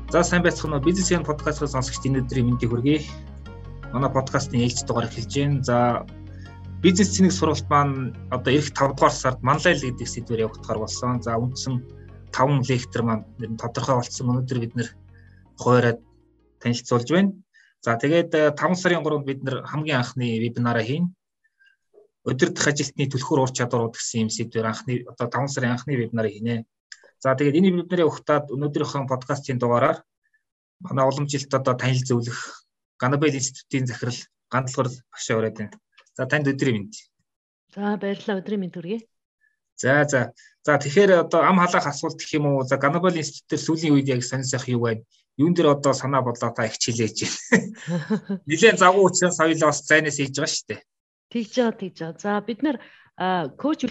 За сайн байцгаана уу бизнесийн подкастыг сонсогч өнөөдрийн мэндийг хүргэе. Манай подкастын ээлж дугаар эхэлж байна. За бизнес цэник сургалт маань одоо эх 5 дугаар сард манлайл гэдэг сэдвээр явагдахаар болсон. За үндсэн 5 лектор маань тодорхой болсон. Өнөөдөр бид нэр хуваараад танилцуулж байна. За тэгээд 5 сарын 3-нд бид нэр хамгийн анхны вебинараа хийн. Өдөрдох ажилтны түлхүүр ур чадварууд гэсэн юм сэдвээр анхны одоо 5 сарын анхны вебинараа хийнэ. За тэгээд энэ вебинарыг ухтаад өнөөдрийнхөө подкастын дугаараар манай уламжилт одоо танил зөвлөх Ганабел институтийн захирал Гандлгар багш аваад байна. За танд өдрийн мэнд. За баярлалаа, өдрийн мэнд хүргэе. За тэгэхээр одоо ам халаах асуулт гэх юм уу? За Ганабел институтээр сүүлийн үед яг сонир сайх юу байна? Юун дээр одоо санаа бодлоо та их хилээж байна. Нилээн завгүй учраас соёлоо бас зайнаас хийж байгаа шүү дээ. Тэгж байгаа. За бид нар коуч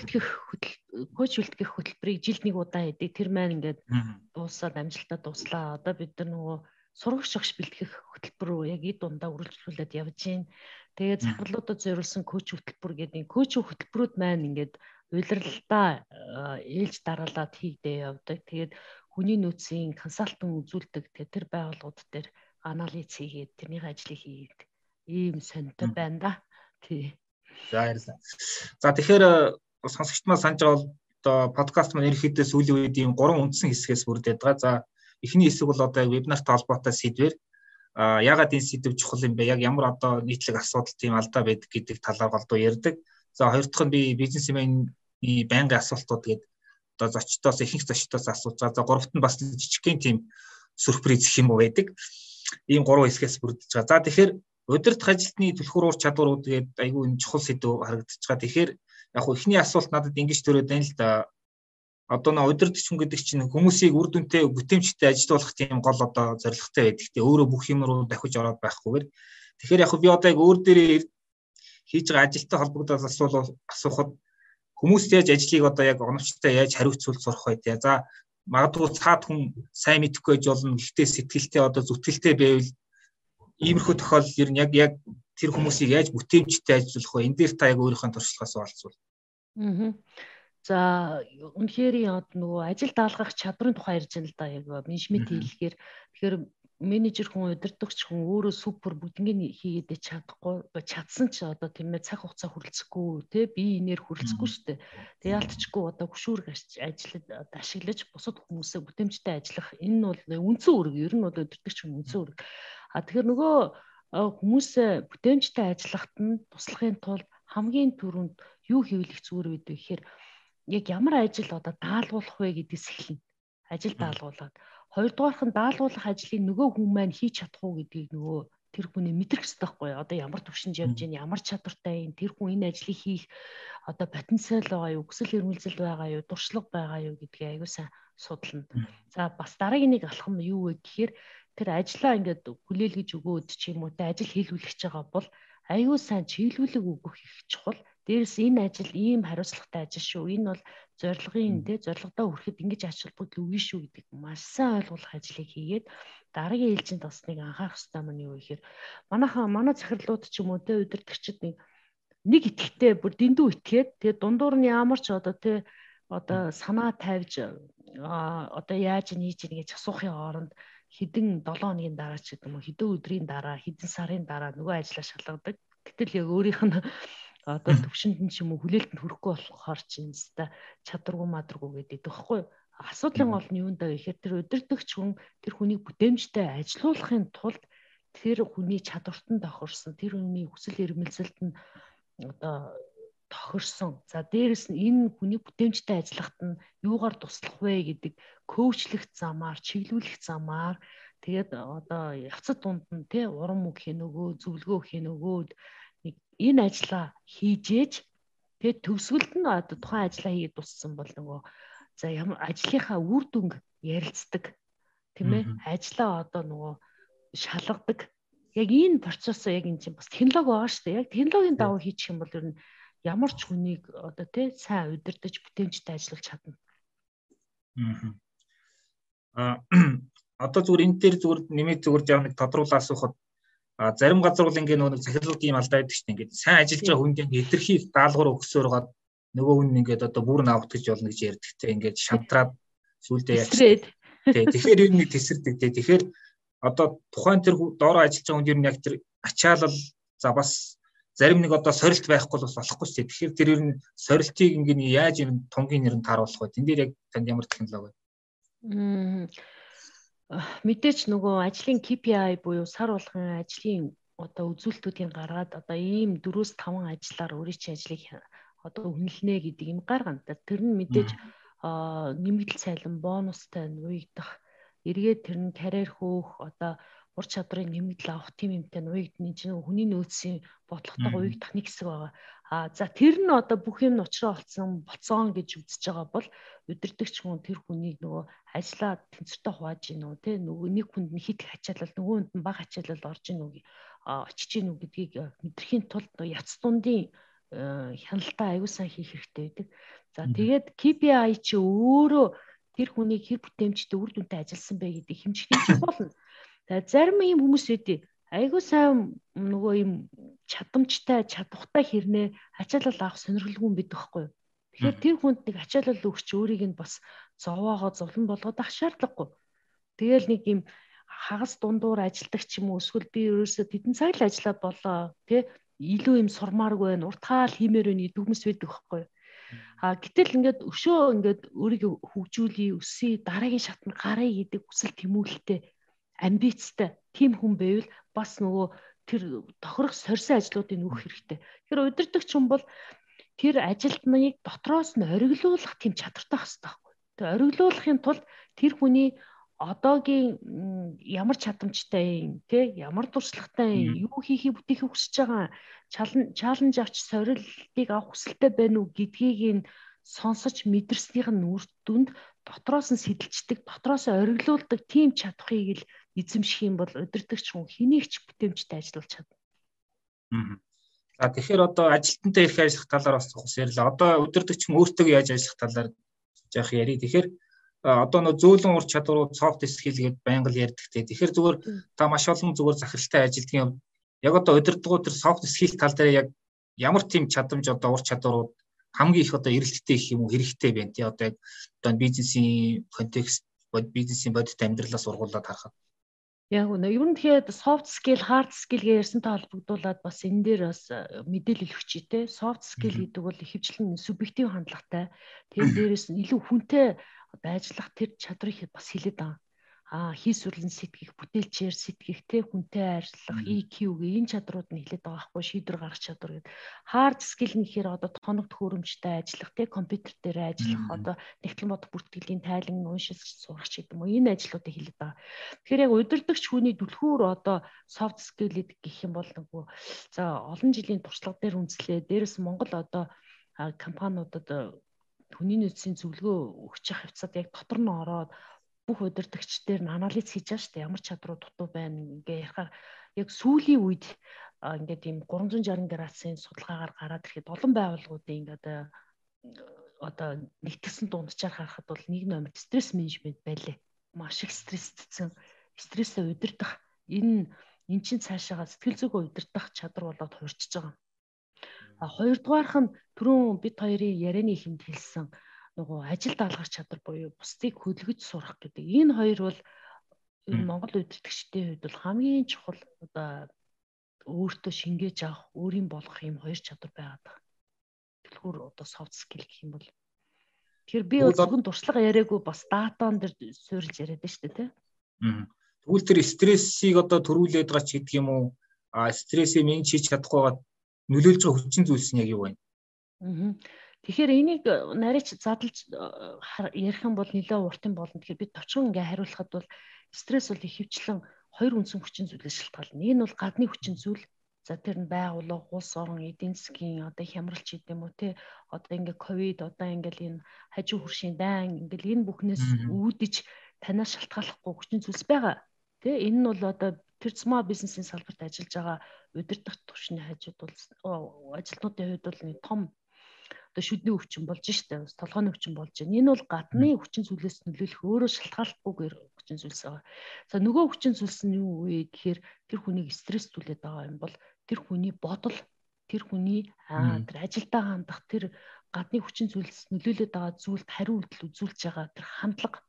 үлдгэх хөтөлбөрийг жилд нэг удаа хийдэг. Тэр маань ингээд дуусаад амжилтаа дуслаа. Одоо бид нар нөгөө сурагч багш бэлтгэх хөтөлбөр рүү яг эд дундаа үргэлжлүүлээд явж байна. Тэгээд захирлуудад зориулсан коуч хөтөлбөр гэдэг коуч хөтөлбөрүүд маань ингээд улиралдаа ээлж дараалаад хийгдээ явдаг. Тэгээд хүний нөөцийн консалтинг үзүүлдэг. Тэр байгууллагууд дээр анализ хийгээд тэрний ажлыг хийгээд ийм сонирхтой байна да. Тий. За баярлалаа. За тэгэхээр сонсогчд маань санаж байгаа бол одоо подкаст маань ерөнхийдөө сүүлийн үед ийм 3 үндсэн хэсгээс бүрдээд байгаа. За эхний хэсэг бол одоо вебинартай холбоотой сэдвэр яагаад энэ сэдв чухал юм бэ? Яг ямар одоо нийтлэг асуудал тийм алдаа байдаг гэдэг талаар голдуу ярьдаг. За хоёр дахь нь би бизнесменийн байнгын асуултууд гээд одоо зочдоос ихэнх зочдоос асууж байгаа. За гуравт нь бас жижигхэн тийм сюрприз гэх юм уу байдаг. Ийм 3 хэсгээс бүрдэж байгаа. За тэгэхээр удирдах ажилтны түлхүүр ур чадварууд гээд айгүй энэ чухал сэдв харагдаж байгаа. Тэгэхээр яг хөө эхний асуулт надад ингэж төрөөд байна л да. Одоо нөө удирдахч хүн гэдэг чинь хүмүүсийг үр дүнтэй бүтээмжтэй ажилуулах тийм гол одоо зорилготой байдаг. Тэ өөрөө бүх юм руу давхиж ороод байхгүйгээр. Тэгэхээр яг би одоо яг өөр дээрээ хийж байгаа ажилтай холбогдоод асуухад хүмүүс яаж ажлыг одоо яг оновчтой яаж хариуцуулж сурах вэ те. За магадгүй цаад хүн сайн мэдэхгүй байж болно. Гэхдээ сэтгэлтэй одоо зүтгэлтэй байвал иймэрхүү тохиолдол ер нь яг тэр хүмүүсийг яаж бүтээмжтэй ажилуулах вэ? Энд дээр та яг өөрийнхөө туршлагаас олцвол. За үнэхээр нөгөө ажил даалгах чадрын тухай ярьж байна л да. Яг менежмент хэлэхээр тэгэхээр менежер хүн удирдагч хүн өөрөө супер бүгднийг хийгээд чадсан ч одоо тийм ээ цаг хугацаа хүрэлцэхгүй те би энээр хүрэлцэхгүй шүү дээ. Тэг яалтчгүй одоо хөшүүрг ажиллаж ашиглаж бусад хүмүүсээ бүтээмжтэй ажиллах энэ нь бол үндсэн үүрэг. Ер нь бол удирдагч хүн үндсэн үүрэг. Тэгэхээр нөгөө хүмүүсээ бүтээмжтэй ажиллахад нь туслахын тулд хамгийн түрүүнд юу хийвэл их зүгээр вэ гэхээр яг ямар ажил одоо даалгуулах вэ гэдгээс эхэлнэ. Ажил даалгуулад. Хоёрдугаарх нь даалгуулах ажлыг нөгөө хүн маань хийж чадах уу гэдгийг нөгөө тэр хүний мэдрэх хэрэгтэй байхгүй юу? Одоо ямар төвшөнд явж байна, ямар чадвартай юм, тэр хүн энэ ажлыг хийх одоо потенциал байгаа юу, хүсэл эрмэлзэл байгаа юу, дуршлаг байгаа юу гэдгийг аягүй сайн судална. За бас дараагийн нэг алхам нь юу вэ гэхээр тэр ажлаа ингээд хүлээлгэж өгөөд ч юм уу те ажил хийлгүүлж байгаа бол аюу сайн чиглүүлэг өгөх их чухал. Дээрээс энэ ажил ийм хариуцлагатай ажил шүү. Энэ бол зорилгын зорилгодоо хүрэхэд ингэж ач холбогдол өгнө шүү гэдэг маш сайн ойлгуулах ажлыг хийгээд дараагийн ээлжинд бас нэг анхаарах хэрэгтэй маань юу гэхээр манай захирлууд ч юм уу те удирдагчид нэг итгэвтэй бүр дэндүү итгээд тэгээ дундуур нь ямар ч одоо те одоо санаа тавьж одоо яаж хийж ийн гэж асуухын оронд хэдэн 7 хоногийн дараа ч гэдэг юм уу хэдэн өдрийн дараа хэдэн сарын дараа нөгөө ажлаа шалгадаг. Гэтэл яг өөрийнх нь одоо төвшөнд нь ч юм уу хүлээлтэнд хүрэхгүй болохоор чинь өстой чадваргүй мадргүй гэдэг байхгүй. Асуудлын гол нь юунд даа гэхээр тэр удирдагч хүн тэр хүнийг бүтээмжтэй ажилуулахын тулд тэр хүний чадварт нь тохирсон тэр хүний хүсэл эрмэлзэлд нь одоо тохирсон. За дээрэс нь энэ хүний бүтээмжтэй ажиллахад нь юугаар туслах вэ гэдэг коучлэх замаар, чиглүүлэх замаар тэгээд одоо явцад дунд нь тий урам үг хийнөгөө, зөвлөгөө хийнөгөөд энэ ажлаа хийжээж тэгээд төгсгөлд нь одоо тухайн ажлаа хийгээд дууссан бол нөгөө за ямар ажлынхаа үр дүнг ярилцдаг тийм ээ ажлаа одоо нөгөө шалгадаг яг энэ процессоо яг энэ чинь бас технологи байгаа шүү дээ. Яг технологийн дагуу хийчих юм бол ер нь ямар ч хүнийг одоо тий сайн удирдах бүтээмжтэй ажиллаж чадна. Одоо зүгээр энэ дээр зүгээр нэмээд зүгээр жаа нэг тодруулаа асуухад зарим газар бол ингээ нэг захирлууд ийм алдаа байдаг шүү дээ. Ингээд сайн ажиллаж байгаа хүнд ингээ илэрхий даалгавар өгсөөр гад нөгөө хүн ингээд одоо бүр наавт гэж болно гэж ярьдаг те. Ингээд шантраад сүулдэ яач. Тэгэхээр ер нь тесэрдэг тий. Тэгэхээр одоо тухайн тэр доороо ажиллаж байгаа хүн ер нь яг тэр ачаалал за бас зарим нэг одоо сорилт байхгүй бол болохгүй шүү дээ. Тэгэхээр тэр ер нь сорилтыг ингээд яаж ер нь тунгийн нэр нь тааруулах вэ? Тэн дээр яг танд ямар технологи вэ? Мэдээч нөгөө ажлын KPI буюу сар болгон ажлын одоо үзүүлэлтүүдийг гаргаад одоо ийм 4-5 ажлаар өөрийн чинь ажлыг одоо үнэлнэ гэдэг юм гаргана. Тэр нь мэдээж нэмэгдэл цайлан бонустай нуйгдах, эргээд тэр нь карьер хөөх, одоо ур чадрын нэмэгдэл авах тийм юмтай нуйгдны чинь хүний нөөцийн бодлоготойгоо уйгдах нэг хэсэг байгаа. За тэр нь одоо бүх юм учраа болцсон гэж үзэж байгаа бол удирдагч хүн тэр хүнийг нөгөө ажиллаа тэнцвэртэй хувааж гин үү те нөгөө нэг хүнд нь хит хачаалал нөгөөнд нь бага хачаалал орж гин үү очиж гин үү гэдгийг мэдрэхийн тулд яц дундын хяналтаа аюул сан хийх хэрэгтэй байдаг. За тэгээд KPI чи өөрөө тэр хүнийг хэр бүтээмжтэй үр дүнтэй ажилласан бэ гэдгийг хэмжих болно. Тэгээд зарим юм хүмүүс үүдээ аюул сайн нөгөө юм чадамжтай чадвартай хэрнээ ачаалал авах сонирхолгүй байдаг байхгүй юу? Тэгэхээр тэр хүнд нэг ачаалал өгч өөрийг нь бас зовоогоо зовлон болгоод ах шаардлагагүй. Тэгэл нэг юм хагас дундуур ажилдаг ч юм уу эсвэл би ерөөсөө тэдэн цаг л ажиллаад болоо тий илүү юм сурмааргүй байна уртгаал хиймээр байна гэдэг хүмүүс байдаг байхгүй юу? Гэтэл ингээд өшөө ингээд өөрийгөө хөгжүүлээ өсөе дараагийн шатнд гарыг гэдэг хүсэл тэмүүлэлтэй амбицтай тийм хүн байвал бас нөгөө тэр тохирох сорьсон ажлуудыг нүүх хэрэгтэй. Тэгэхээр удирдагч хүн бол тэр ажилтныг дотроос нь ориглуулах тийм чадвартай хэвээр байхгүй. Тэгээ ориглуулахын тулд тэр хүний одоогийн ямар чадамжтай юм те ямар туршлагатай юм юу хийхийг бүтээхийг хүсэж байгаа чаленж авч сорилтыг авах хүсэлтэй байна уу гэдгийг нь сонсож мэдэрснийх нь үр дүнд дотроос нь сэтэлждэг дотроос нь ориглуулдаг тийм чадхыг л эзэмших юм бол удирдагч хүн хэнийгч бүтэмжтэй ажиллаж чадна. За тэгэхээр одоо ажилтнтай их ажиллах талаар бас ярирлаа. Одоо удирдагч хүн өөртөө яаж ажиллах талаар яах ярий. Тэгэхээр одоо нөө зөөлөн ур чадварууд soft skill гэдээ байнга л ярьдаг те. Тэгэхээр зүгээр та маш олон зүгээр захиралтай ажилтгийн юм. Яг одоо удирдлагууд тэр soft skill тал дээр яг ямар тийм чадамж одоо ур чадварууд хамгийн их одоо эрэлттэй гэх юм уу хэрэгтэй байна те. Одоо яг одоо бизнесийн контекст бизнесийн бодит амьдралаас ургуулад харахад. Яг үнэ. Ер нь тэгэхээр soft skill, hard skill гэж ярьсантай холбогдуулаад бас энэ дээр бас мэдээлэл өгчий те. Soft skill гэдэг бол ихэвчлэн субъектив хандлагатай. Тэгээд дээрэс нь илүү хүнтэй одоо ажиллах тэр чадрыг бас хилээд байгаа. Хийсвэрлэн сэтгэх, бүтээлчээр сэтгэх, тэ хүнтэй ажиллах, EQ гээ энэ чадрууд нь хилээд байгаа байхгүй шийдвэр гаргах чадвар гэдэг. Hard skill нь гэхээр одоо тоног төхөөрөмжтэй ажиллах, тэ компьютер дээр ажиллах, одоо нэгтлэн бодох бүртгэлийн тайлан уншиж сурах ч гэдэг юм уу. Энэ ажлуудыг хилээд байгаа. Тэгэхээр яг удирдагч хүний түлхүүр одоо soft skill гэх юм бол нөгөө за олон жилийн туршлага дээр үндэслээ. Дээрээс Монгол одоо компаниудад хүний нөөцийн зөвлөгөө өгч явах хавцад яг дотор нь ороод бүх удирдагч дээр нь анализ хийж байгаа шүү дээ. Ямар чадрууд дутуу байна ингээ ярихаар яг сүүлийн үед ингээд ийм 360 градусын судалгаагаар гараад ирэхэд олон байгууллагуудын ингээд одоо нэгтгэсэн дунджаар харахад бол нэг номер стресс менежмент байлээ. Маш их стрессдсэн, стрессээ удирдах энэ чинь цаашаага сэтгэл зүгөө удирдах чадвар болоод хуурчиж байгаа. Хоёрдугаарх нь түрүүн бид хоёрын ярианы ихэнд хэлсэн нөгөө ажил даалгавар чадвар буюу бусдыг хөдөлгөж сурах гэдэг. Энэ хоёр бол Монгол удирдагчдын хувьд бол хамгийн чухал одоо өөртөө шингээж авах, өөрийн болгох юм хоёр чадвар байгаад байна. Түлхүүр одоо soft skill гэх юм бол. Тэгэхээр би зөвхөн туршлага яриаггүй бас датан дээр суурилж яриад байна шүү дээ, тий. Тэгвэл тэр стрессийг одоо төрүүлээд байгаа ч гэдэг юм уу? Стрессийг менеж хийж чадахгүй нөлөөлж байгаа хүчин зүйлс нь яг юу вэ? Тэгэхээр энийг нарийч задлж ярих юм бол нэлээд уртын болно. Тэгэхээр бид товчхон ингээ хариулахад бол стресс бол ихэвчлэн хоёр үндсэн хүчин зүйлээс шалтгаална. Нэг нь бол гадны хүчин зүйл. За тэр нь байгууллага, улс орон, эдийн засгийн одоо хямралч гэдэг юм уу те. Одоо ингээ ковид, одоо ингээл энэ хажуу хөршийн дайн ингээл энэ бүхнээс үүдэж танаас шалтгааллахгүй хүчин зүйлс байгаа. Тэ энэ нь бол одоо тэр small business-ийн салбарт ажиллаж байгаа удирдах түвшний хажууд бол ажилтнуудын хувьд бол нэг том одоо шүдний өвчин болж штэ толгойн өвчин болж байна. Энэ бол гадны хүчин зүйлээс нөлөөлөх өөрөө шалтгааллахгүйгээр хүчин зүйлс байгаа. За нөгөө хүчин зүйлс нь юу вэ гэхээр тэр хүнийг стресстүүлээд байгаа юм бол тэр хүний бодол, тэр хүний тэр ажилдаа хандах тэр гадны хүчин зүйлс нөлөөлөд байгаа зүйлд хариу үйлдэл үзүүлж байгаа тэр хандлага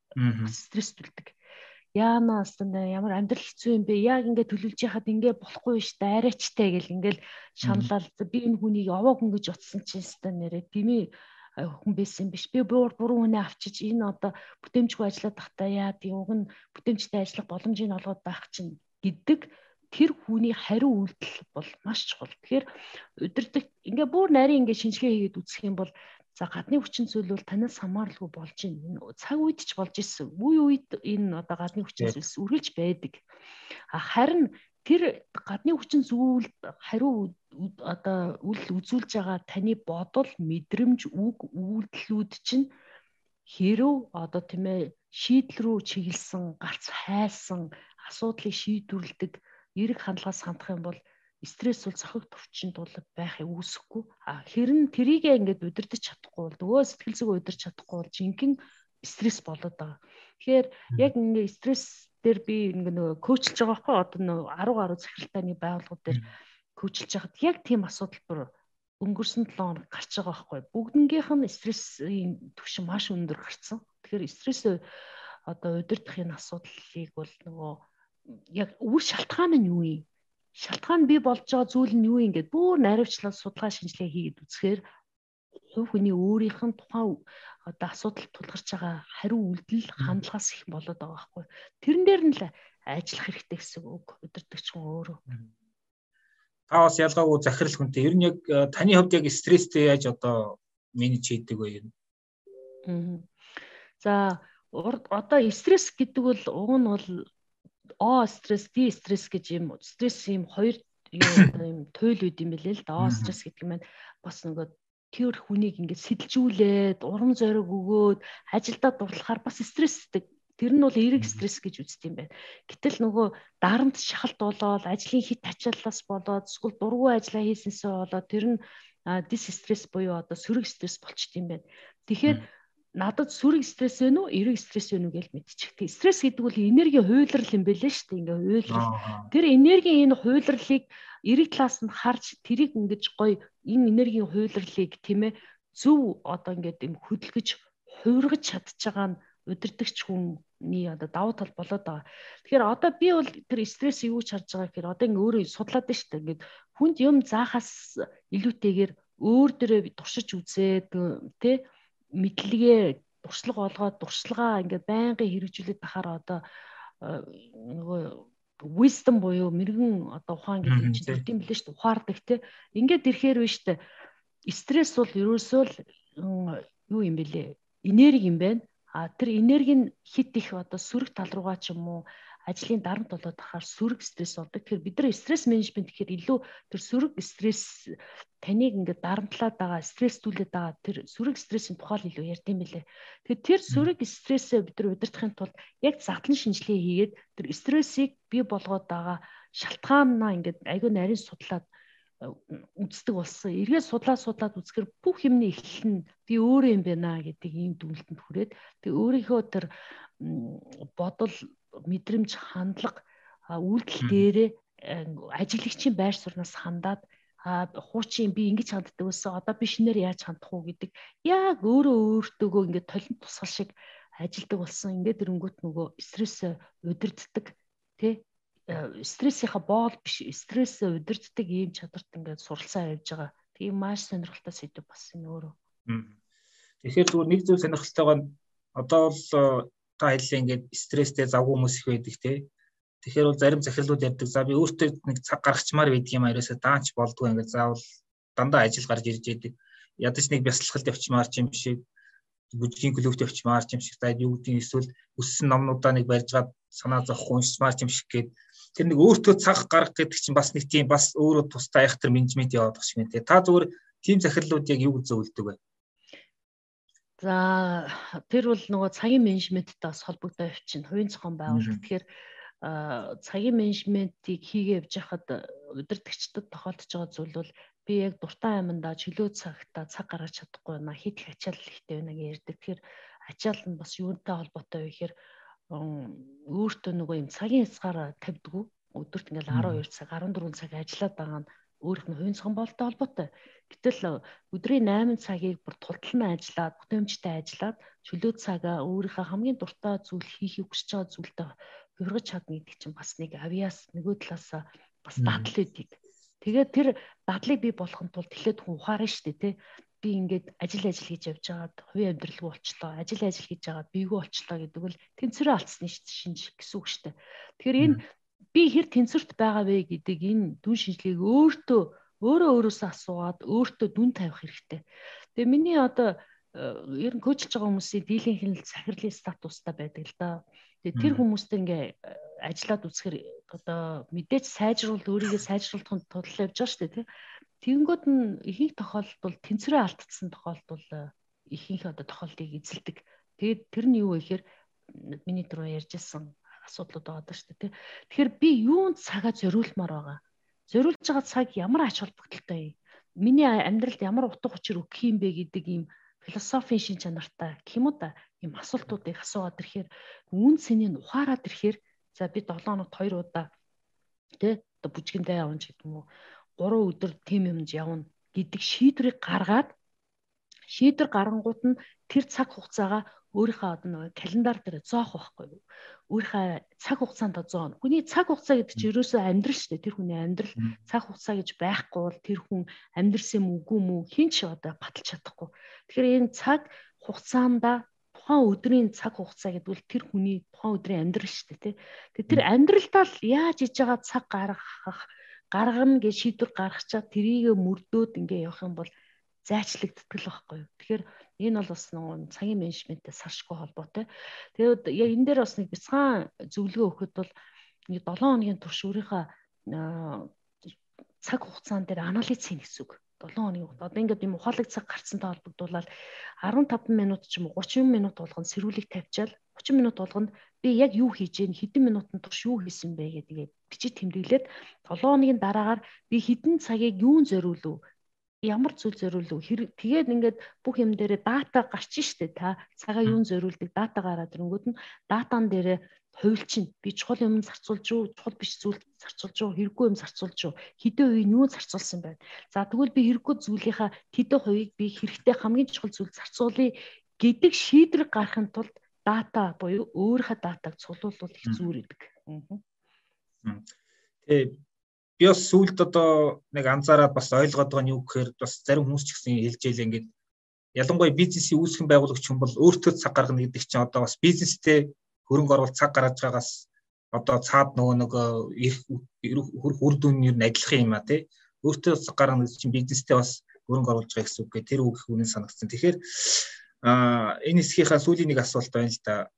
стресстүүлдэг. Яана астана ямар амьдрал хэцүү юм бэ? Яг ингээд төлөвлөж яхад ингээд болохгүй шүү дээ. Арайчтай гэл ингээд шаналал би энэ хүнийг овоо хүн гэж утсан чинь ста нэрээ тэмээ хүн байсан биш. Би буруу хүнээ авчиж энэ одоо бүтээмжгүй ажиллаад тахтаа яа тийм уг нь бүтээмжтэй ажиллах боломжийг олгоод байх чинь гэдэг тэр хүний хариу үйлдэл бол маш чухал. Тэгэхээр удирдаг ингээ бүр нарийн ингээ шинжилгээ хийгээд үзэх юм бол за гадны хүчин зүйл бол танаас хамааралгүй болж байна. Цаг үед ч болж исэн. Үе үед энэ одоо гадны хүчин зүйлс үргэлж байдаг. Харин тэр гадны хүчин зүйлд хариу одоо үйл үзүүлж байгаа таны бодол, мэдрэмж, үг, үйлдэлүүд чинь хэрв одоо тийм ээ шийдэл рүү чиглэсэн, гарц хайсан, асуудлыг шийдвэрлэдэг эерэг хандлагаас хандах юм бол стресс бол зохиг төвчөнд бол байхыг үүсэхгүй. Хэрэн тэрийгээ ингээд удирдах чадахгүй бол нөгөө сэтгэл зүгөө удирч чадахгүй бол жинхэнэ стресс болоод байгаа. Тэгэхээр яг ингээд стресс дээр би ингээд нөгөө коучлж байгаа байхгүй одоо нөгөө 10 гаруй захиралтай байгууллагууд дээр коучлж байхад яг тийм асуудал бүр өнгөрсөн 7 хоног гарч байгаа байхгүй. Бүгднгийнх нь стрессийн түвшин маш өндөр гарсан. Тэгэхээр стресс одоо удирдах энэ асуудлыг бол нөгөө яг үр шалтгаан нь юу юм? Шалтгаан бий болж байгаа зүйл нь юу юм гэдэг бүр наривчлал судалгаа шинжилгээ хийгээд үзэхээр хувь хүний өөрийнх нь тухайн одоо асуудалд тулгарч байгаа хариу үйлдэл хандлагаас их болоод байгаа байхгүй. Тэрэн дээр нь л ажиллах хэрэгтэй гэсэн үг удирдагч хүн өөрөө. Та бас ялгаагүй захирал хүнтэй. Ер нь яг таны хувьд яг стресстэй яаж одоо менеж хийдэг вэ юм? За одоо стресс гэдэг бол уг нь бол О стресс, Д стресс гэж юм стресс юм хоёр юм туйл үүд юм билээ л да. О стресс гэдэг нь бас нөгөө тэр хүнийг ингээд сэтэлжүүлээд урам зориг өгөөд ажилдаа дурлахаар бас стресстэй. Тэр нь бол эерэг стресс гэж үздэг юм байна. Гэтэл нөгөө дарамт шахалт болоод ажлын хит ачааллаас болоод эсвэл дургүй ажиллаа хийсэнсээ болоод тэр нь дис стресс буюу одоо сөрөг стресс болчт юм байна. Тэгэхээр надад сөрөг стресс вэ нү, эерэг стресс вэ нү гэж мэдчихдэг. Стресс гэдэг бол энергийн хуйлрал юм байлээ шүү дээ. Ингээ хуйлрал. Тэр энергийн энэ хуйлралыг эерэг талаас нь харж тэрийг ингэж гоё энэ энергийн хуйлралыг тийм ээ зөв одоо ингээд юм хөдөлгөж хувиргаж чадж байгаа нь удирдагч хүний одоо давуу тал болоод байгаа. Тэгэхээр одоо би бол тэр стресс юу ч харж байгаа гэхээр одоо ингээ өөрөө судлаад байна шүү дээ. Ингээд хүнд юм заахаас илүүтэйгээр өөр дөрөө туршиж үзээд тий мэдлэгээ туршлага олгоод туршлагаа ингээд байнгын хэрэгжүүлээд тахаар одоо нөгөө wisdom буюу мэрэгэн одоо ухаан гэдэг чинь төрд юм билээ шүү дээ. Ухаардаг тий. Ингээд ирэхээр биш дээ. Стресс бол ерөөсөө л юу юм бэлээ? Энерги юм байна. Тэр энерги нь хит их одоо сөрөг тал руугаа ч юм уу ажлын дарамт болоод тахаар сөрөг стресс болдог. Тэгэхээр бид нар стресс менежмент гэхээр илүү тэр сөрөг стресс таныг ингээд дарамтлаад байгаа, стресстүүлээд байгаа тэр сөрөг стрессийн тухай илүү ярьд юм билээ. Тэгэхээр тэр сөрөг стрессээ бид нар удирдахын тулд яг задлан шинжилгээ хийгээд тэр стрессийг бий болгоод байгаа шалтгаанаа ингээд аягүй нарийн судлаад үздэг болсон. Эргээд судлаад үзэхээр бүх юмны эхлэл нь би өөрөө юм байна гэдэг ийм дүгнэлтэнд хүрээд тэг өөрийнхөө тэр бодол, мэдрэмж, хандлага, үйлдэл дээрээ ажиглагчийн байр сууриас хандаад хуучин би ингэж ханддаг байсан. Одоо би шинээр яаж хандах уу гэдэг яг өөртөөгөө ингээд толин тусгал шиг ажилдаг болсон. Ингээд эрэнгүүт нөгөө стрессээ удирддаг тий стрессийнхаа боол биш стрессээ удирддаг ийм чадварт ингээд суралцаа явьж байгаа. Тийм маш сонирхолтой сэдв бас энэ өөрөө. Тэгэхээр зүгээр нэг зүйл сонирхолтойгоо одоо бол та хэллээ ингээд стресстэй завгүй хүмүүс их байдаг тий. Тэгэхээр бол зарим захирлууд ярьдаг. За би өөртөө нэг цаг гаргачмаар байдаг юм ариусаа даанч болдгоо ингээд заавал дандаа ажил гарч ирж яадаг. Ядаж нэг бясалгалд явчмаар ч юм шиг бүжгийн клубт явчмаар ч юм шиг та юу гэдгийг эсвэл өссөн номнуудаа нэг барьж гад санаа зовхгүй уншмаар ч юм шиг гээд тэр нэг өөртөө цаг гаргах гэдэг чинь бас нэг тийм бас өөрөө тустай айхтар менежмент яваад багш юм тий. Та зүгээр тийм захирлууд яг юу гэж зөвлөдөг вэ? За тэр бол нөгөө цагийн менежменттэй бас холбогдоо явчихна. Хувийн зохион байгуулалт. Тэгэхээр цагийн менежментийг хийгээ явж хахад удирдагчдад тохиолдож байгаа зүйл бол би яг дуртай аймандаа чөлөө цагтаа цаг гаргаж чадахгүй байна. Хит их ачаал ихтэй байна гэж ярьдаг. Тэгэхээр ачаал нь бас юунтай холбоотой вэ гэхээр өөртөө нөгөө юм цагийн хязгаар тавьдгүү. Өдөрт ингээл 12 цаг, 14 цаг ажиллаад байгаа нь өөрийнх нь хувийн зохион байгуулалттай холбоотой. Гэтэл өдрийн 8 цагийг бүр тултална ажиллаад, бүтээмжтэй ажиллаад чөлөө цагаа өөрийнхөө хамгийн дуртай зүйл хийхийг хүсэж байгаа зүйлтэй хувиргаж чадна гэдэг чинь бас нэг авьяас нөгөө талаас бас дадал өгдөг. Тэгээд тэр дадлыг бий болгохын тулд эхлээд хүн ухаарна шүү дээ, тий. Би ингээд ажил хийж явж байгаад хувийн амьдралгүй болчлоо, ажил хийж байгаад бийгүй болчлоо гэдэг бол тэнцвэрээ алдсны шинж гэсэн үг шүү дээ. Тэгэхээр энэ би хэр тэнцвэрт байгаа вэ гэдэг энэ дүн шинжилгээг өөрөөсөө асуугаад өөртөө дүн тавих хэрэгтэй. Тэгээ миний одоо ер нь коучлж байгаа хүмүүсийн дийлэнх нь захирлын статустай байдаг л да. Тэгээ тэр хүмүүстэй ингээ ажиллаад үзэхээр одоо мэдээж өөрийгөө сайжруулахын тулд явж байгаа шүү дээ, тий. Тэгэнгүүт нь ихэнх тохиолдолд тэнцвэрээ алдсан тохиолдол ихэнх одоо тохиолдыг эзэлдэг. Тэгээд тэр нь юу вэ гэхээр миний түрүү ярьжсэн асуудлууд байгаа шүү дээ. Тэгэхээр би юунд цагаа зориулмаар байгаа? Зориулж байгаа цаг ямар ач холбогдолтой юм? Миний амьдралд ямар утга учир өгөх юм бэ гэдэг ийм философийн шин чанартай гэх юм уу та ийм асуултуудыг асууад ирэхээр үн цэнийг ухаарад ирэхээр за би 7 хоногт 2 удаа тэ одоо бүжгэндээ явна ч гэдэг юм уу 3 өдөр тим юмд явна гэдэг шийдвэр гаргангууд нь тэр цаг хугацаагаа өөрийнхөө одоо нэг календар дээр зоох байхгүй юу? Өөрийнхөө цаг хугацаанд зоно. Хүний цаг хугацаа гэдэг чинь ерөөсөө амьдрал шүү дээ. Тэр хүний амьдрал цаг хугацаа гэж байхгүй бол тэр хүн амьдрсан юм үгүй мүү хин ч одоо баталж чадахгүй. Тэгэхээр энэ цаг хугацаанда тухайн өдрийн цаг хугацаа гэдэг бол тэр хүний тухайн өдрийн амьдрал шүү дээ. Тэгээ тэр амьдралдаа л яаж иж байгаа цаг гаргана гэж шийдвэр гаргачаад тэрийг мөрдөөд ингээ явах юм бол зайчлагддаг л байхгүй юу. Тэгэхээр энэ бол бас нэг цагийн менежменттэй салшгүй холбоотой. Тэгээд яг энэ дээр бас нэг бяцхан зөвлөгөө өгөхөд бол нэг 7 хоногийн турш өөрийнхөө цаг хугацаан дээр анализ хийнэ гэсэн үг. 7 хоногийн хугацаа. Одоо ингээд юм ухаалаг цаг гарцсантай холбогдуулаад 15 минут ч юм уу 30 минут болгоно сэрүүлэг тавьчаал 30 минут болгонд би яг юу хийж гэн хэдэн минутын турш юу хийсэн бэ гэдгийг бичиж тэмдэглээд 7 хоногийн дараагаар би хэдэн цагийг юунд зориулв ямар зүйл зориулв тэгээд ингээд бүх юм дээрээ дата гарч штэ та цагаа юунд зориулдаг дата гараад ирэнгүүт нь датан дээрээ хувилчин би чухал юм зарцуулж юу чухал биш зүйл зарцуулж юу хэрэггүй юм зарцуулж юу хэдэн үеийн юу зарцуулсан байна. За тэгвэл би хэрэггүй зүйлийнхаа хэдэн хувийг би хэрэгтэй хамгийн чухал зүйл зарцуулъя гэдэг шийдвэр гаргахын тулд дата буюу өөрийнхөө датаг цуглуулвал их зүүр идэг. Тэгээ би бас сүүлд одоо нэг анзаараад бас ойлгоод байгаа нь юу гэхээр бас зарим хүмүүс ч гэсэн хэлж ийлээ ингээд ялангуяа бизнесийн үүсгэн байгуулагч хүн бол өөртөө цаг гаргана гэдэг чинь одоо бас бизнестэй хөрөнгө оруулалт цаг гаргаж байгаас одоо цаад нөгөө үр дүн нь адилхан юм а тий өөртөө цаг гаргана гэдэг чинь бизнестэй бас хөрөнгө оруулж байгаа гэсэн үг гэ тэр үг их үнэн санагдсан. Тэгэхээр энэ хэсгийнхаа сүүлийн нэг асуулт байна л да.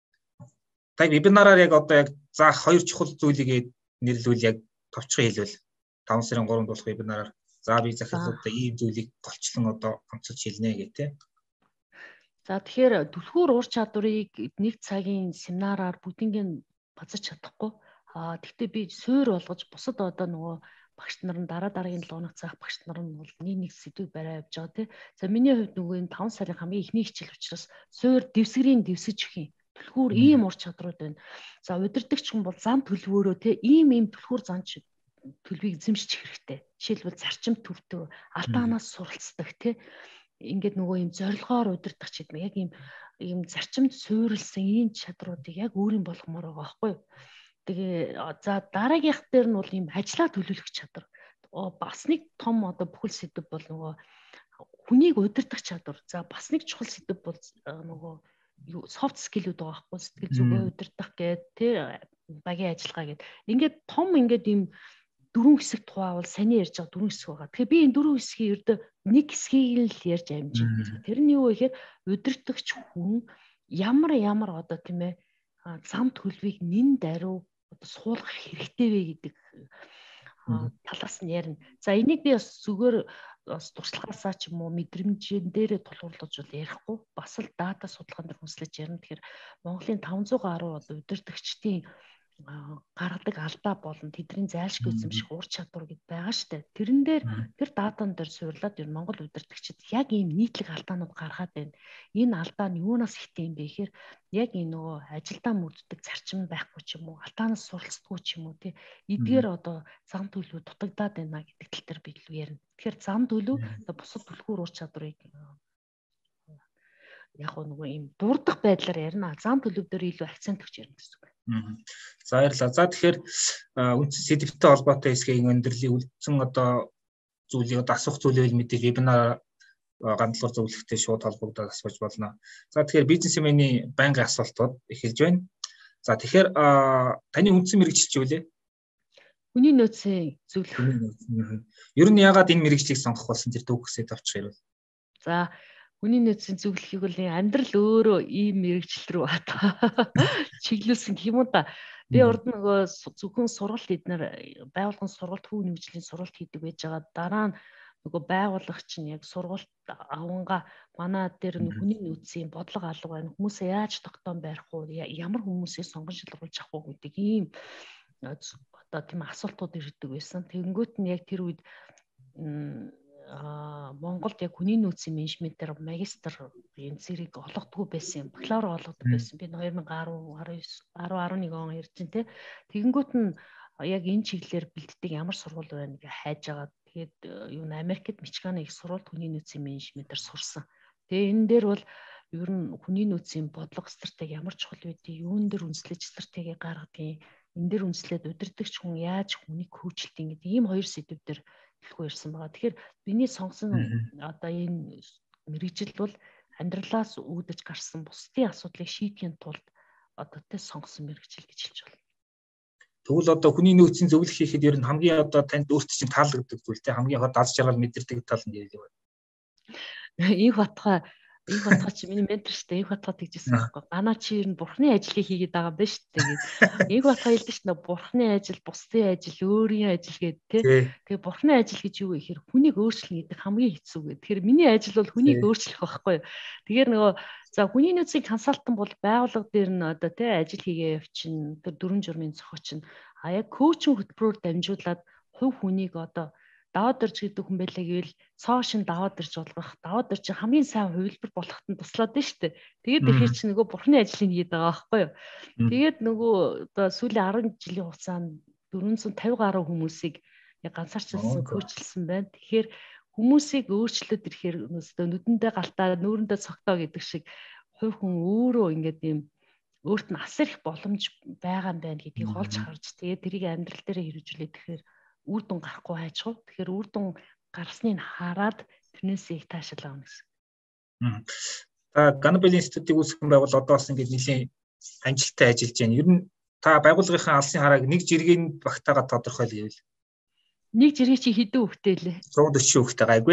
Та вебинараар яг одоо яг заах 2 чухал зүйлийг нэрлэвэл яг товчхон хэлвэл 5 сарын 3-нд болох вебинараар за би захирлуудаа ийм зүйлийг голчлон одоо онцолж хэлнэ гэх тээ. За тэгэхээр түлхүүр ур чадварыг 1 цагийн семинараар бүгднийг базаж чадахгүй. Тэгвэл би суур болгож бусад одоо нөгөө багш нар нь дараагийн 7 хоног цаах багш нар нь бол нэг сэдвийг барай явж байгаа тий. За миний хувьд нөгөө энэ 5 сарын хамгийн ихний хичээл учраас суур дэвсгэрийн дэвсэж өгөх юм. Түлхүүр ийм ур чадрууд байна. За удирдагч хүн бол зам төлөвөөрөө тий ийм түлхүүр занч төлөвийг эзэмших хэрэгтэй. Жишээлбэл зарчим төвтэй алдаанаас суралцдаг тий. Ингээд нөгөө ийм зорилгоор удирдах ч гэдэг яг ийм зарчимд суурилсан ийм чадруудыг яг өөрийн болгомоор байгаа байхгүй юу? Тэгээ за дараагийнх дээр нь бол ийм ажлаа төлөвлөх чадвар. Бас нэг том одоо бүхэл сэдв бол нөгөө хүнийг удирдах чадвар. За бас нэг чухал сэдв бол нөгөө софт скиллүүд байгаа байхгүй сэтгэл зүгөө удирдах гэдэг тий багийн ажиллагаа гэдэг. Ингээд том ингээд ийм 4 хэсэг тухайвал саний ярьж байгаа 4 хэсэг байгаа. Тэгэхээр би энэ 4 хэсгийн ердөө нэг хэсгийг л ярьж амжиж. Тэр нь юу вэ гэхээр удирдахч хүн ямар одоо тийм ээ зам төлөвийг нэн даруй одоо суулгах хэрэгтэй вэ гэдэг талаас нь ярина. За энийг би бас зүгээр бас туршлагаасаа ч юм уу мэдрэмжэн дээрээ тулгуурлаж бол ярихгүй бас л дата судалгаан дээр хүслэж ярина. Тэгэхээр Монголын 500 гаруй одоо удирдагчдын гаргадаг алдаа болон тэдний зайлшгүй эзэмших ур чадвар гэд байгаа штэ. Тэрэн дээр тэр даатан дээр суурлаад ер нь Монгол удирдагчид яг ийм нийтлэг алдаанууд гаргаад байна. Энэ алдаа нь юунаас ихтэй юм бэ гэхээр яг энэ нөгөө ажилдаа мөрддөг зарчим байхгүй ч юм уу, алдаанаас суралцдаггүй ч юм уу тий. Эдгээр одоо зам төлөв дутагдаад байна гэдэг тал дээр би илүү ярина. Тэгэхээр зам төлөв бусад түлхүүр ур чадварыг яг нөгөө ийм дурдах байдлаар ярина. Зам төлөв дээр илүү акцент өгч ярина гэсэн үг. За баярлалаа. За тэгэхээр үндсэн сэдвтэй холбоотой хэсгийн өндөрлөлийн үлдсэн одоо зүйлийг одоо асуух зүйлийг мэдээ вебинар гандлуур зөвлөхтэй шууд холбогдоод асууж болно. За тэгэхээр бизнесмений байнгын асуултууд эхэлж байна. За тэгэхээр таны үндсэн мэргэжил чи юу вэ? Хүний нөөцийн зөвлөх. Ер нь яагаад энэ мэргэжлийг сонгох болсон тэр дүүхсээ тавчих юм бол? За хүний нөөцийн зөвлөхийг бол амьдрал өөрөө ийм мэргэжил рүү чиглүүлсэн гэх юм уу та. Би урд нөгөө зөвхөн сургалт эднэр байгуулгын сургалт хүүн хөгжлийн сургалт хийдэг байж байгаа. Дараа нь нөгөө байгууллага чинь яг сургалт аванга манай дээр хүний нөөцийн бодлого алга байна. Хүмүүсээ яаж тогтоон барих уу? Ямар хүмүүсийг сонгон шилгуулж авах уу гэдэг ийм одоо тийм асуултууд ирдэг байсан. Тэгэнгүүт нь яг тэр үед Монголд яг хүний нөөцийн менежментээр магистр энэ зэрэг олгодгүй байсан юм. Бакалавр олгодог байсан. Би 2010, 11 он ярьж байна те. Тэгэнгүүт нь яг энэ чиглэлээр бэлддэг ямар сургууль байна гэж хайж агаад тэгээд юу н Америкт Мичиганы их сургууль хүний нөөцийн менежментээр сурсан. Тэгээ энэ дээр бол ер нь хүний нөөцийн бодлого стратеги ямар чухал байдгийг, юун дээр үндэслэж стратеги гаргадгийг, энэ дээр үндэслээд удирдагч хүн яаж хүнийг хөгжилтийн гэдэг ийм хоёр сэдв дээр хэлэхгүй ирсэн байгаа. Тэгэхээр биний сонгосон одоо энэ мэргэжил бол амьдралаас үүдэж гарсан бусдын асуудлыг шийдэхин тулд одоо тэ сонгосон мэргэжил гэж хэлж байна. Тэгвэл одоо хүний нөөцийн зөвлөх хийхэд ер нь хамгийн одоо танд өөрт чинь таалагддаг зүйл те хамгийн хот аз жаргал мэдэрдэг тал нь ярил байна. Инх батгаа чи миний ментор шүү дээ. Инх батгаа тэгжсэн байхгүй. Ганаа чи ер нь бурхны ажлыг хийгээд байгаа юм байна шүү дээ гэж. Инх батгаа хэлдэг шүү дээ. Бурхны ажил, бусдын ажил, өөрийн ажил гэдэг тий. Тэгээ бурхны ажил гэж юу вэ гэхээр хүнийг өөрчлөн гэдэг хамгийн хэцүү гэдэг. Тэгэхээр миний ажил бол хүнийг өөрчлөх байхгүй юу. Тэгэхээр нөгөө за хүний нөөцийн консалтант бол байгууллага дээр нь одоо тий ажил хийгээ явчихна. Тэр дүрм журмын зохиоч нь яг коучинг хөтөлбөрөөр дамжуулаад хувь хүнийг одоо даваад ирж гэдэг хүн байлаа гэвэл цоошин даваад ирж болгох, даваад ирж хамгийн сайн хувилбар болоход нь туслаад байна шүү дээ. Тэгээд тэгэхээр чи нөгөө бурхны ажлыг хийгээд байгаа байхгүй юу. Тэгээд нөгөө одоо сүүлийн 10 жилийн хугацаанд 450 гаруй хүмүүсийг яг ганцаарчилсан, коучлсан байна. Тэгэхээр хүмүүсийг өөрчлөөд ирэхээр нүдэндээ галтаа, нүүрэндээ цогтоо гэдэг шиг хувь хүн өөрөө ингээд юм өөрт нь асар их боломж байгаа юм байна гэдгийг олж харж тэгээд тэрийг амьдрал дээр хэрэгжүүлээд тэгэхээр үр дүн гарахгүй хайчгүй. Тэгэхээр үр дүн гарсныг хараад тэрнээсээ их таашаал авна гэсэн. Та Ганбел институтыг үүсгэн байгуул одоо бас ингээд нэлийн амжилттай ажиллаж байна. Ер нь та байгууллагынхаа алсын харааг нэг жиргэний багтаага тодорхойлъё. Нэг жиргээ чи хэдэн хүүхэдтэй лээ? 140 хүүхэдтэй гайгүй.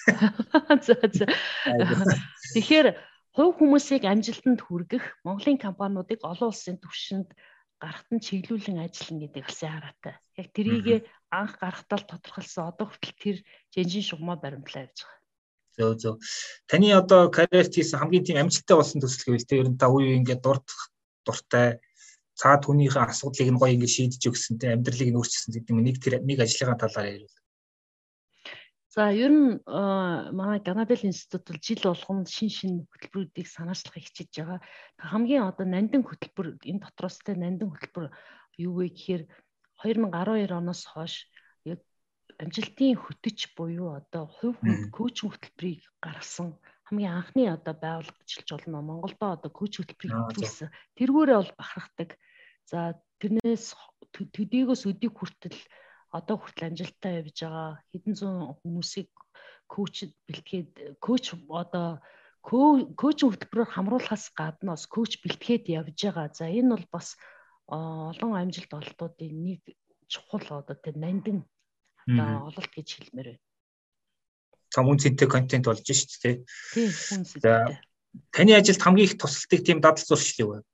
За. Тэгэхээр хувь хүмүүсийг амжилтанд хүргэх Монголын компаниудыг олон улсын түвшинд гарахт нь чиглүүлэн ажиллана гэдэг алсын хараатай. Яг тэрийг анх гарахтаа л тодорхойлсон. Одоо хүртэл тэр жинжин шугамаа баримтлаа явж байгаа. Зөв. Таны одоо карьерт хийсэн хамгийн тийм амжилттай болсон төсөл гэвэл тэр нь та үе ингээд дуртай цаад хүнийхээ асуудлыг нь гоё ингээд шийдэж өгсөн те амьдралыг нь өөрчилсөн гэдэг нэг ажлынхаа талаар ярил. За ер нь манай Ганбел институт бол жил болгонд шин хөтөлбөрүүдийг санаачлахыг хичээж байгаа. Хамгийн одоо нандин хөтөлбөр энэ дотроос те нандин хөтөлбөр юу вэ гэхээр 2012 оноос хойш яг амжилтын хөтөч буюу одоо хувь хүн коучинг хөтөлбөрийг гаргасан хамгийн анхны одоо байгууллага гэж хэлж болно. Монголдо одоо коучинг хөтөлбөрийг хөтөлсөн. Тэргүүрээ бол бахархдаг. За тэрнээс төдийгөөс өдийг хүртэл одоо хүртэл амжилттай явж байгаа хэдэн зуун хүмүүсийг коуч бэлтгээд коуч одоо коучинг хөтөлбөрөөр хамруулахаас гадна бас коуч бэлтгээд явж байгаа. За энэ бол бас олон амжилт ололтуудын нэг чухал одоо тэр нандин одоо ололт гэж хэлмээр байна. Том үнцэнтэй контент болж шүү дээ. Тийм үнцэнтэй. Таны ажилд хамгийн их тусалдаг тийм дадал зуршил юу вэ?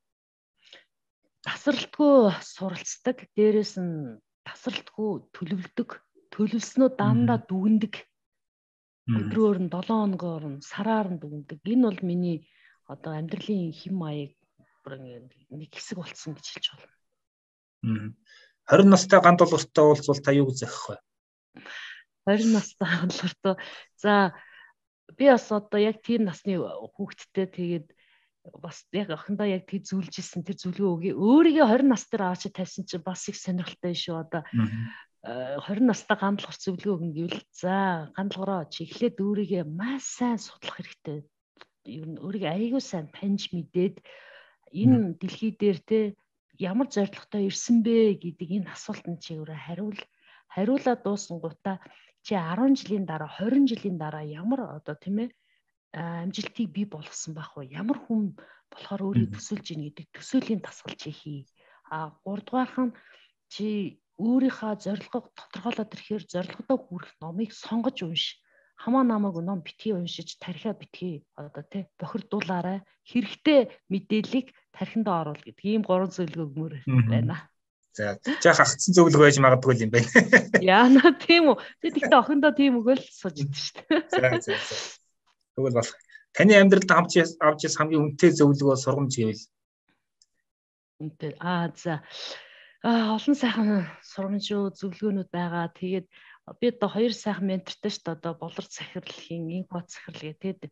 Тасралтгүй суралцдаг, дээрэс нь тасралтгүй төлөвлөснөө дандаа дүгндэг. Өдрөөр нь 7 хоногоор нь сараар нь дүгндэг. Энэ бол миний одоо амьдралын хэм маяг нэг хэсэг болсон гэж хэлж байна. 20 настай ган долууртай уулзвал та юу гэж зохих вэ? 20 настай ган долууртай. За би бас одоо яг тийм насны хүүхэдтэй тэгээд бас яг охиндоо яг тэг зүйлж исэн тэр зүйлгээ өөрийгөө 20 нас дээр аваач тавьсан чинь бас их сонирхолтой шүү одоо 20 настай гандалгах зөвлөгөө өгнө гэвэл за гандалгараа чи эхлээд өөрийгөө маш сайн судлах хэрэгтэй. Ер нь өөрийгөө аягүй сайн таньж мэдээд энэ дэлхий дээр те ямар зорилготой ирсэн бэ гэдэг энэ асуултанд чи өөрөө хариулаад дуусангуудаа чи 10 жилийн дараа 20 жилийн дараа ямар одоо тийм ээ амжилтыг бий болгосон байх вэ? Ямар хүн болохоор өөрийг төсөөлж ийн гэдэг төсөөлийн дасгал чи хий. 3 дугаарх нь чи өөрийнхөө зорилгыг тодорхойлоод ирэхээр зорилгодоо хүрэх номыг сонгож унш. Хамаа намайг ном битгий уншиж тархиа битгий одоо тий бохирдуулаарай. Хэрэгтэй мэдээллийг тархиндаа оруул гэдэг ийм 3 зөвлөгөө өгмөр байна. За жаах агцсан зөвлөгөө байж магадгүй юм байна. Яана тийм үү. Тэгэхдээ охиндоо тийм өгөөл сууж идэв шүү дээ. За. Тэгвэл болох. Таны амьдралд авч яс хамгийн үнэтэй зөвлөгөө сургамж гэвэл үнэтэй. За. Олон сайхан сургамжууд зөвлөгөөнүүд байгаа. Тэгээд би одоо 2 сайхан ментортой шүү дээ. Одоо болор захирлын, инкод захирал гэдэг.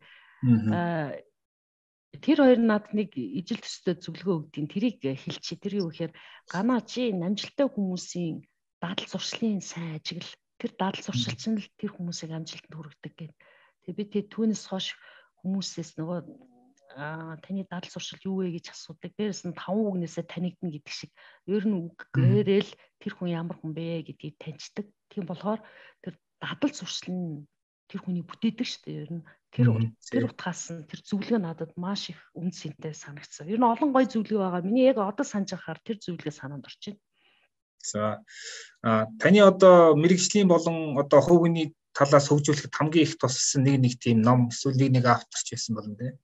Тэр хоёр надад нэг ижил төстэй зөвлөгөө өгдیں۔ Тэрийг хэлчихье. Тэр юу гэхээр ганаа чи амжилттай хүмүүсийн дадал зуршлын сайн ажиглал. Тэр дадал зуршил чинь л тэр хүмүүсийг амжилтанд хүргэдэг гэдэг. Тэгээ би түүнээс хойш хүмүүсээс нөгөө таны дадал зуршил юу вэ гэж асуудаг. Дээрээс нь 5 үгнээсээ танигдна гэдэг шиг. Ер нь үг гээрэл тэр хүн ямар хүн бэ гэдгийг таньждаг. Тийм болохоор тэр дадал зуршил нь тэр хүний бүтээдэг шүү дээ. Ер нь тэр утгаас нь тэр зөвлөгөө надад маш их үн цэнтэй санагдсан. Ер нь олон гоё зөвлөгөө байгаа. Миний яг одоо санаж байхаар тэр зөвлөгөө санаанд орж байна. За таны одоо мэрэгжлийн болон одоо хувийн талаас хөгжүүлэхэд хамгийн их тусалсан нэг тийм ном эсвэл нэг авторч байсан болно те.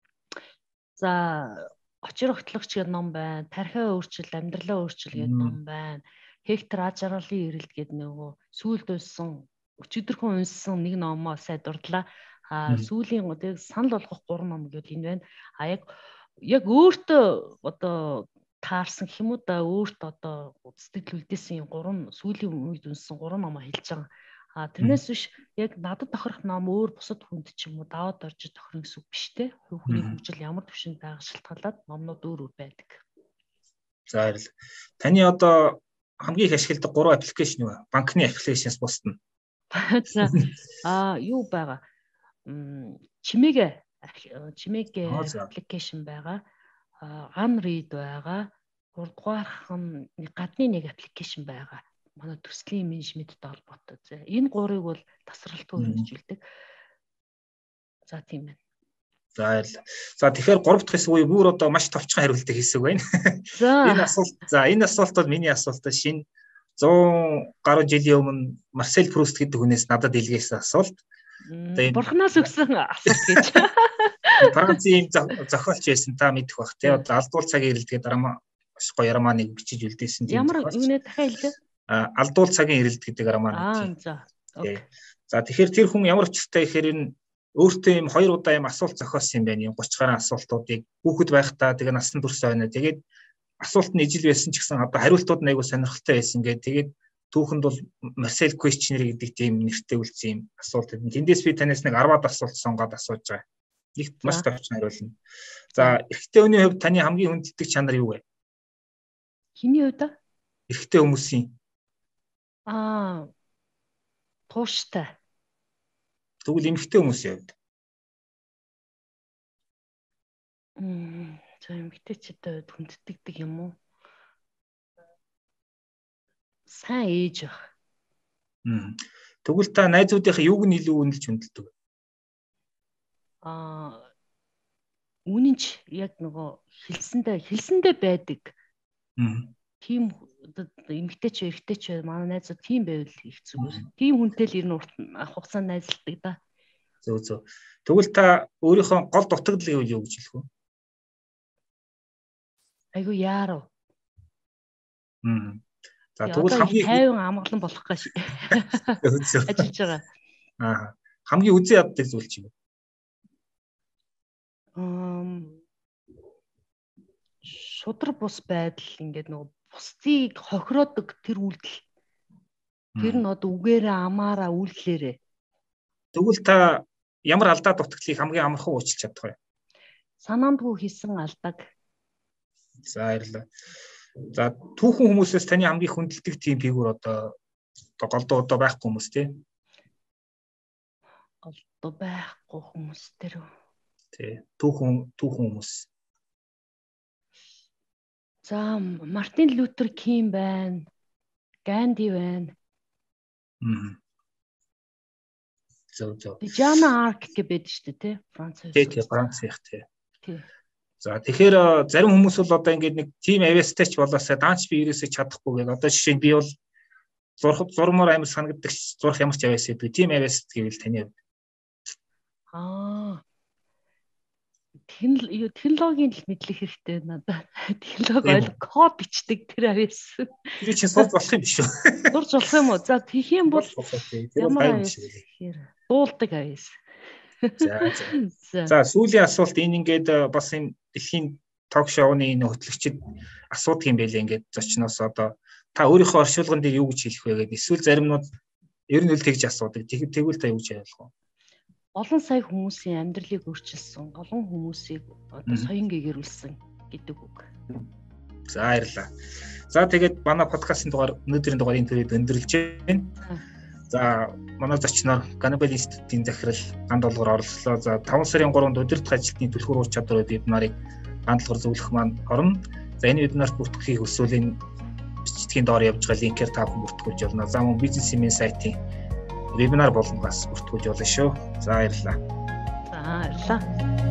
За очир огтлогч гэдэг ном байна. Тархиа өөрчил, амьдралаа өөрчил гэдэг ном байна. Хектор Ажралын эрэлт гэдэг нөгөө сүүлд унсан өчигдөрхөн унсан нэг номоо сая дурдлаа. Сүүлийн санал болгох 3 ном гэдэг энэ байна. Яг өөртөө одоо таарсан гэх юм уу да өөртөө одоо сэтгэл үлдээсэн 3 сүүлийн үед унсан 3 номоо хэлж байгаа. Тэрнээс биш яг надад тохирох ном өөр бусад хүнд ч юм уу даваад орж тохирно гэсэн үг биш те. Хүний хөгжил ямар төвшөнд байгаа шалтгаалаад номнууд өөр байдаг. За баярлалаа. Таны одоо хамгийн их ашигладаг 3 аппликейшн юу вэ? Банкны аппликейшнээс бусдна. За юу байгаа? Чимээгээ аппликейшн байгаа. Unread байгаа. 3 дугаарх нь гадны нэг аппликейшн байгаа. Манай төслийн менежменттэй холбоотой. Энэ 3-ыг бол тасралтгүй хөрвүүлдэг. За тийм байна. За баярлалаа. За тэгэхээр 3 дахь хэсэг үе бүр одоо маш товчхон хариултыг хийсэг байна. Энэ асуулт бол миний асуулт шинэ 100 гаруй жилийн өмнө Марсель Пруст гэдэг хүнээс надад илгээсэн асуулт. Бурханаас өгсөн асуулт гэж. Францын зохиолч байсан та мэдэх бах тий. Алдуул цагийн ирэлт гэдэг маш гоё романыг бичиж үлдээсэн тийм. Ямар юунэ дахиад хэлээ? Алдуул цагийн ирэлт гэдэг роман. За. За тэгэхээр тэр хүн ямар учиртай гэхээр энэ өөртөө юм 2 удаа юм асуулт зохиосон юм байна. 30 гаруй асуултуудыг хүүхэд байхдаа тэгээ насан турш байна. Тэгээд асуулт нь ижил байсан ч гэсэн одоо хариултууд нь айгүй сонирхолтой байсан гэдэг. Тэгээд түүхэнд бол Marcel Questionnaire гэдэг тийм нэртэй үлдсэн юм асуулт. Тэндээс би танаас нэг 10-аад асуулт сонгоод асууж байгаа. Их маш товчхон хариулна. За эрэгтэй хүний хувьд таны хамгийн хүндэтдэг чанар юу вэ? Хиний хувьд? Эрэгтэй хүмүүсийн. Тууштай. Тэгвэл эмэгтэй хүмүүсийн хувьд. За эмэгтэйчүүд хүндэтдэг юм уу? Сайн ээж байх. Тэгвэл та найзуудынхаа юуг нь илүү үнэлж хүндэлдэг вэ? Үнэнч яг нөгөө хэлсэндээ байдаг. Тийм эмэгтэйч эрэгтэйч манай найзууд тийм байвал их зүгээр. Тийм хүнтэй л ер нь хугацаанд найзалдаг да. Зөв. Тэгвэл та өөрийнхөө гол дутагдал юу гэж хэлэх вэ? Айгу яарав. За тэгвэл хамгийн 50 амгалан болох гэж ажиллаж байгаа. Хамгийн үзий яддаг зүйл чи юу? Шудраг бус байдал ингээд нөгөө бусдыг хохироодог тэр үйлдэл. Тэр нь одоо үгээрээ амаараа үйлдэлээрээ. Тэгвэл та ямар алдаа дутагдлыг хамгийн амархан уучлах чадах вэ? Санаандгүй хийсэн алдааг. За баярлалаа. За түүхэн хүмүүсээс таны хамгийн хүндэлдэг тийм фигур одоо голдуу одоо байхгүй хүмүүс тий. Голдуу байхгүй хүмүүс тэр. Тий. Түүхэн хүмүүс. За Мартин Лютер Кинг байна. Ганди байна. Зөв. Жана Арк гэдэг шүү дээ тий. Франц. Тий, Францих тий. Тий. За тэгэхээр зарим хүмүүс бол одоо ингээд нэг тим авьяастай ч болоосаа даанч би ерөөсөө чадахгүй гэдэг. Одоо жишээ нь би бол зурмаар амар санагддаг зурх ямар ч авьяас гэдэг. Тим авьяас гэвэл таны хувьд. Технологийн л мэдлэх хэрэгтэй надад. Технологи код бичдэг тэр авьяас. Тэр чинь сурч болох юм биш үү? Сурч болох юм уу? За тэгэх юм бол ямар авьяас гэхээр дуулдаг авьяас. За сүүлийн асуулт энэ ингээд бас энэ дэлхийн ток шоуны энэ хөтлөгчид асуудаг юм байлээ ингээд зочноос одоо та өөрийнхөө оршуулган дээр юу гэж хэлэх вэ гэдэг. Эсвэл заримнууд ер нь л тэгж асуудаг. Тэгвэл та юу гэж ойлгох вэ? Олон сая хүмүүсийн амьдралыг өөрчилсөн, олон хүмүүсийг одоо соён гээгэрүүлсэн гэдэг үг. За баярлалаа. За тэгээд манай подкастын дугаар өнөөдрийн дугаарыг төрөйд өндөрлж байна. За манай зочноор Ganabel Institute-ийн захирал ганд олгоор оролцлоо. За 5 сарын 3-нд удирдах ажилтны түлхүүр ур чадвар вебинарыг ганд олгоор зөвлөх маань орно. За энэ вебинарт бүртгөхийг хүсвэл энэ бичгийн доор явж байгаа линкээр та бүхэн бүртгүүлж болно. За мөн бизнесмен сайтын вебинар болгоноос бүртгүүлж болно шүү. За баярлалаа. За баярлалаа.